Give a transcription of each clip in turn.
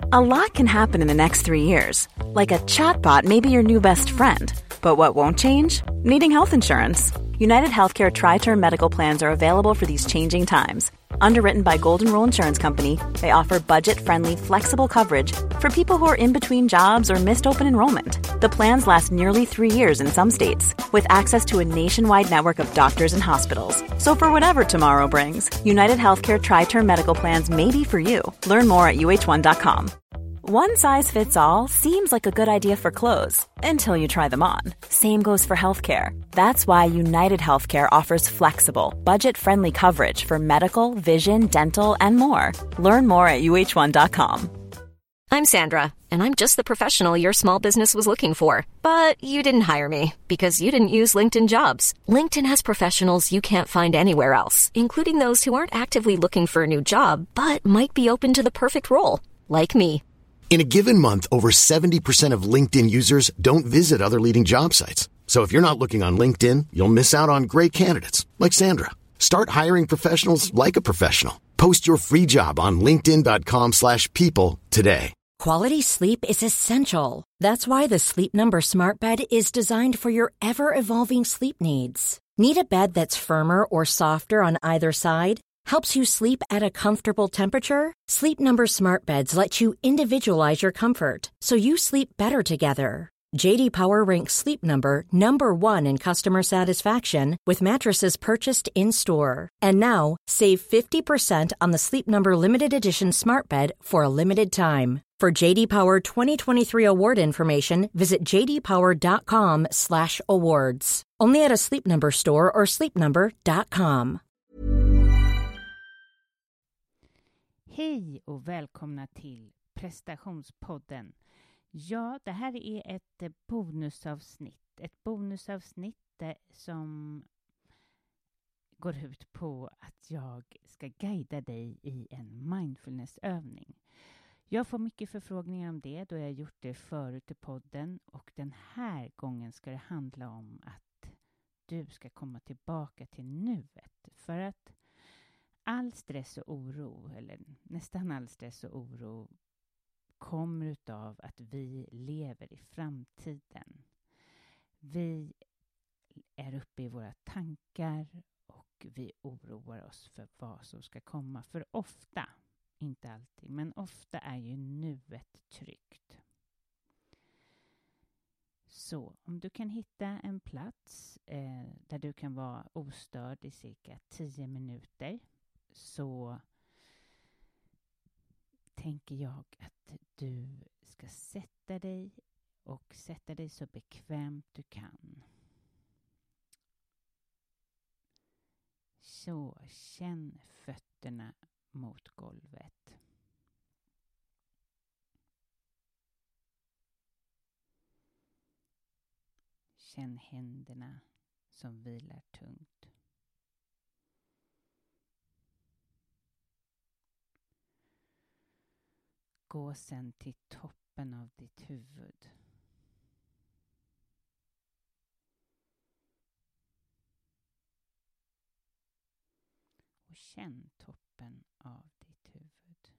A lot can happen in the next 3 years. Like a chatbot may be your new best friend. But what won't change? Needing health insurance. United Healthcare Tri-Term Medical Plans are available for these changing times. Underwritten by Golden Rule Insurance Company, they offer budget-friendly, flexible coverage for people who are in between jobs or missed open enrollment. The plans last nearly 3 years in some states, with access to a nationwide network of doctors and hospitals. So for whatever tomorrow brings, United Healthcare Tri-Term Medical Plans may be for you. Learn more at uh1.com. One size fits all seems like a good idea for clothes until you try them on. Same goes for healthcare. That's why United Healthcare offers flexible, budget-friendly coverage for medical, vision, dental, and more. Learn more at uh1.com. I'm Sandra, and I'm just the professional your small business was looking for. But you didn't hire me because you didn't use LinkedIn Jobs. LinkedIn has professionals you can't find anywhere else, including those who aren't actively looking for a new job, but might be open to the perfect role, like me. In a given month, over 70% of LinkedIn users don't visit other leading job sites. So if you're not looking on LinkedIn, you'll miss out on great candidates like Sandra. Start hiring professionals like a professional. Post your free job on linkedin.com/people today. Quality sleep is essential. That's why the Sleep Number Smart Bed is designed for your ever-evolving sleep needs. Need a bed that's firmer or softer on either side? Helps you sleep at a comfortable temperature? Sleep Number Smart Beds let you individualize your comfort, so you sleep better together. J.D. Power ranks Sleep Number number 1 in customer satisfaction with mattresses purchased in-store. And now, save 50% on the Sleep Number Limited Edition Smart Bed for a limited time. For J.D. Power 2023 award information, visit jdpower.com/awards. Only at a Sleep Number store or sleepnumber.com. Hej och välkomna till prestationspodden. Ja, det här är ett bonusavsnitt. Ett bonusavsnitt som går ut på att jag ska guida dig i en mindfulnessövning. Jag får mycket förfrågningar om det då jag gjort det förut i podden. Och den här gången ska det handla om att du ska komma tillbaka till nuet. För att all stress och oro, eller nästan all stress och oro, kommer utav att vi lever i framtiden. Vi är uppe i våra tankar och vi oroar oss för vad som ska komma. För ofta, inte alltid, men ofta är ju nuet tryggt. Så om du kan hitta en plats där du kan vara ostörd i cirka 10 minuter, så tänker jag att du ska sätta dig så bekvämt du kan. Så känn fötterna mot golvet. Känn händerna som vilar tungt. Gå sen till toppen av ditt huvud. Och känn toppen av ditt huvud.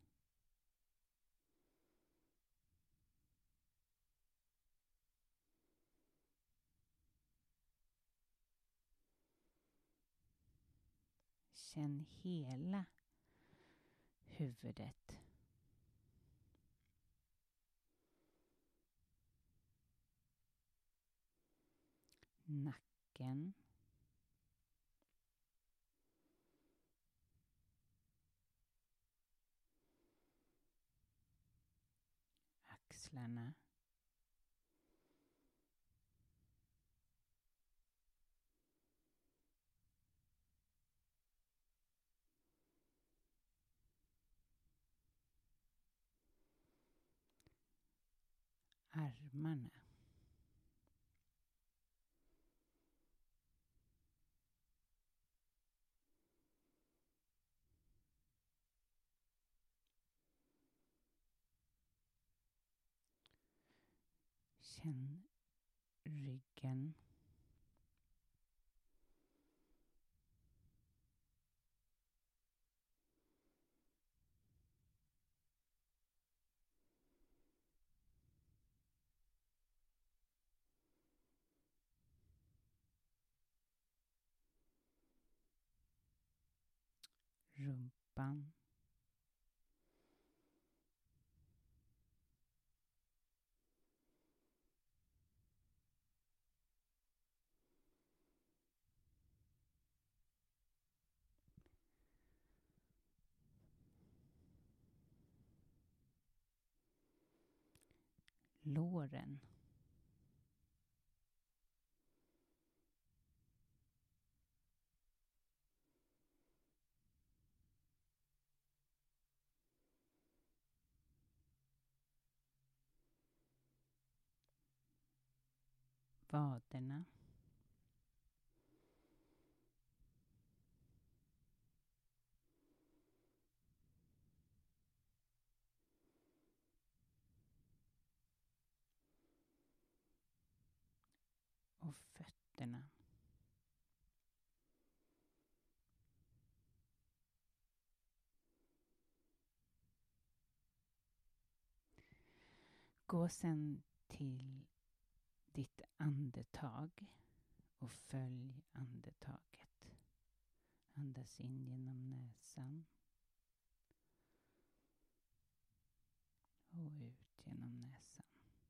Känn hela huvudet. Nacken. Axlarna. Armarna. Känn ryggen. rumpan. Låren. Vaderna. Och fötterna. Gå sen till ditt andetag och följ andetaget. Andas in genom näsan och ut genom näsan.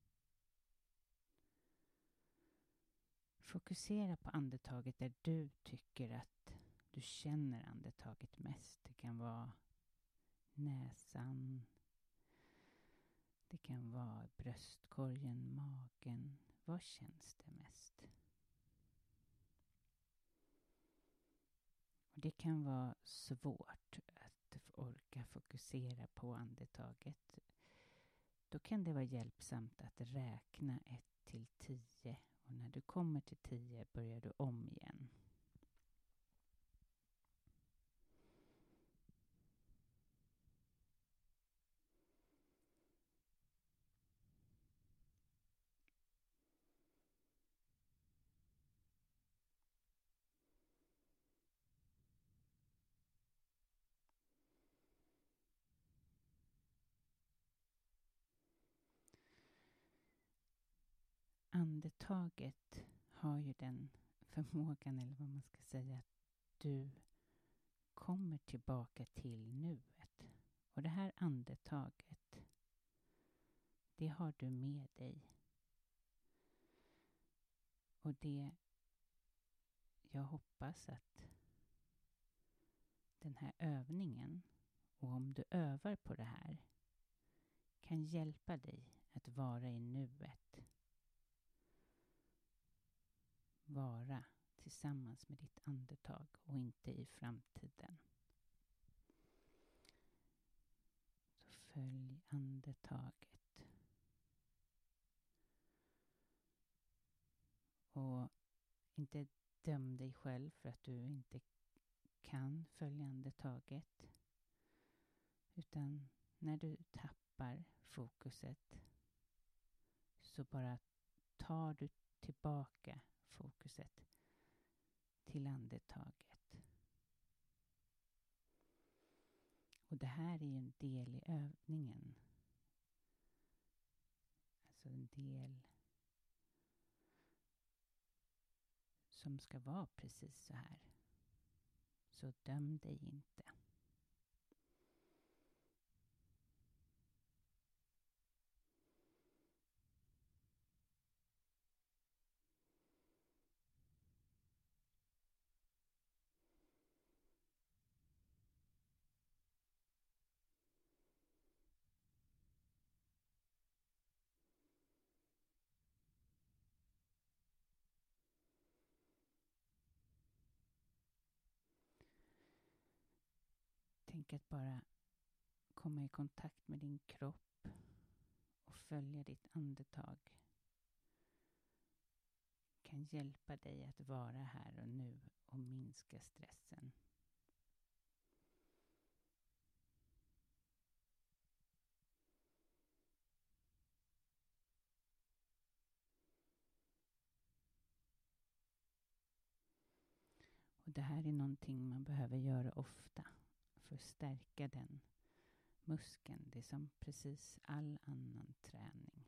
Fokusera på andetaget där du tycker att du känner andetaget mest. Det kan vara näsan, det kan vara bröstkorgen, magen. Vad känns det mest? Och det kan vara svårt att orka fokusera på andetaget. Då kan det vara hjälpsamt att räkna 1 till 10. Och när du kommer till 10 börjar du om igen. Andetaget har ju den förmågan, eller vad man ska säga, att du kommer tillbaka till nuet. Och det här andetaget, det har du med dig. Och det, jag hoppas att den här övningen, och om du övar på det här, kan hjälpa dig att vara i nuet. Vara tillsammans med ditt andetag och inte i framtiden. Så följ andetaget. Och inte döm dig själv för att du inte kan följa andetaget. Utan när du tappar fokuset så bara tar du tillbaka fokuset till andetaget. Och det här är ju en del i övningen. Alltså en del som ska vara precis så här. Så döm dig inte. Tänk att bara komma i kontakt med din kropp och följa ditt andetag kan hjälpa dig att vara här och nu och minska stressen. Och det här är någonting man behöver göra ofta för att stärka den muskeln. Det är som precis all annan träning.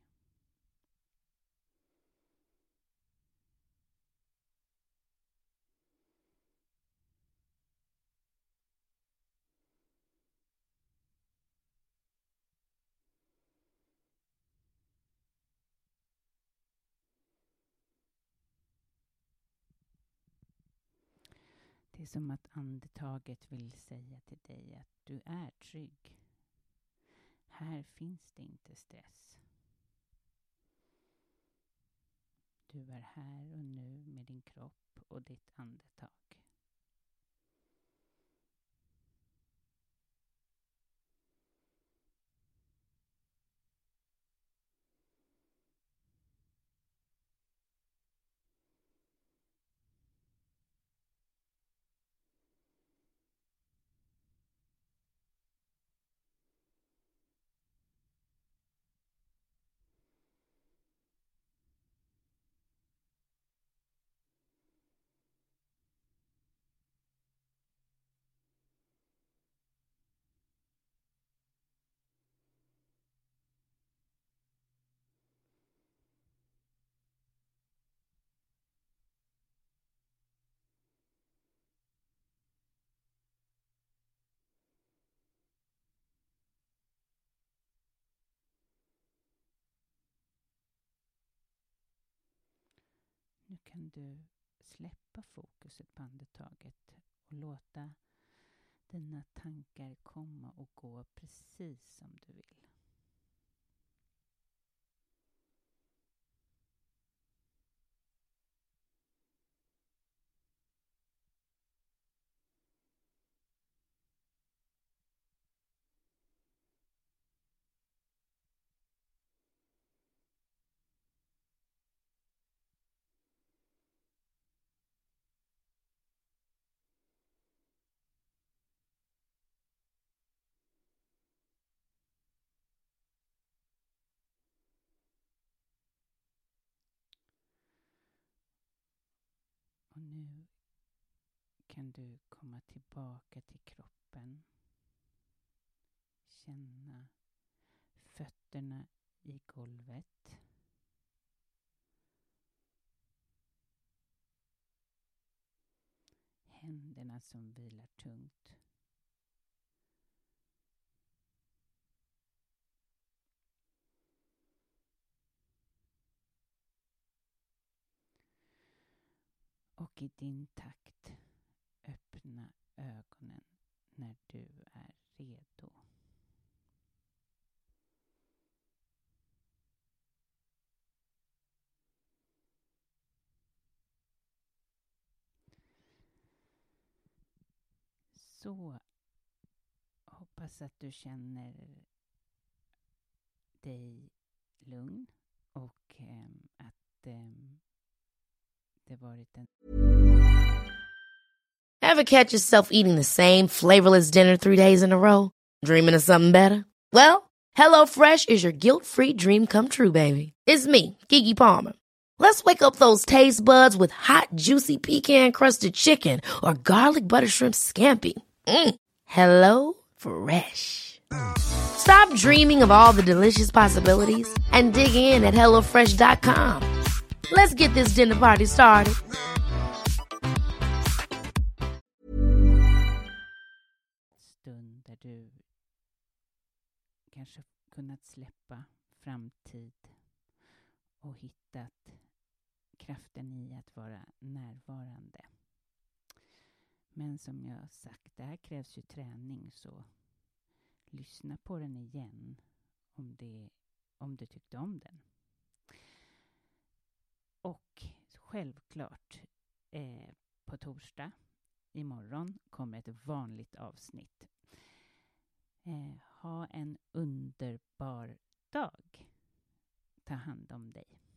Det är som att andetaget vill säga till dig att du är trygg. Här finns det inte stress. Du är här och nu med din kropp och ditt andetag. Nu kan du släppa fokuset på andetaget och låta dina tankar komma och gå precis som du vill. Och nu kan du komma tillbaka till kroppen. Känna fötterna i golvet. Händerna som vilar tungt. Och i din takt öppna ögonen när du är redo. Så hoppas att du känner dig lugn och att det varit en... Ever catch yourself eating the same flavorless dinner 3 days in a row? Dreaming of something better? Well, HelloFresh is your guilt-free dream come true, baby. It's me, Keke Palmer. Let's wake up those taste buds with hot, juicy pecan-crusted chicken or garlic butter shrimp scampi. Hello Fresh. Stop dreaming of all the delicious possibilities and dig in at HelloFresh.com. Let's get this dinner party started. Stund där du kanske kunnat släppa framtid och hittat kraften i att vara närvarande. Men som jag sagt, det här krävs ju träning, så lyssna på den igen om du tyckte om den. Och självklart på torsdag imorgon kommer ett vanligt avsnitt. Ha en underbar dag. Ta hand om dig.